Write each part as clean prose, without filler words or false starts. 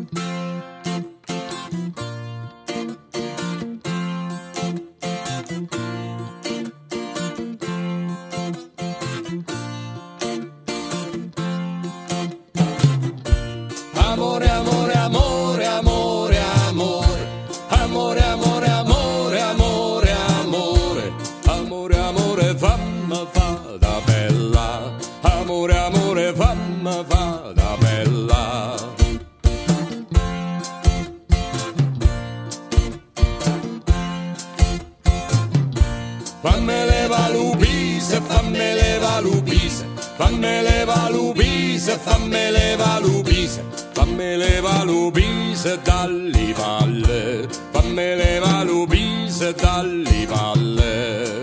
Amore, amore, amore, amore, amore, amore, amore, amore, amore, amore, amore, amore, fammi fata bella, amore, amore, fammi fata bella. Fammi leva l'upise, fammi leva l'upise, fammi leva l'upise, fammi leva l'upise, fammi leva l'upise dalle palle, fammi leva l'upise dalle palle.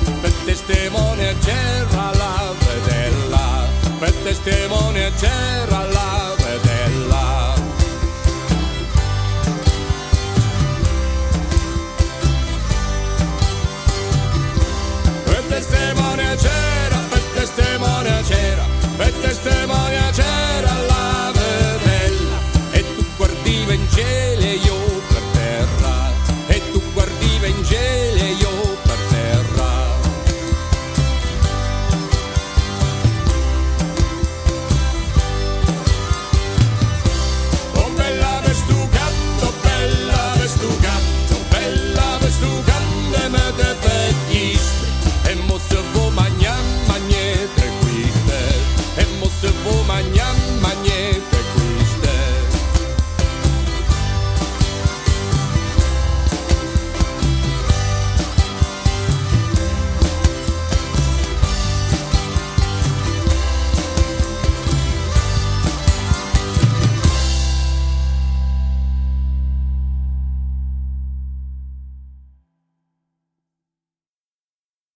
Testimone c'era la vedella, per testimone c'era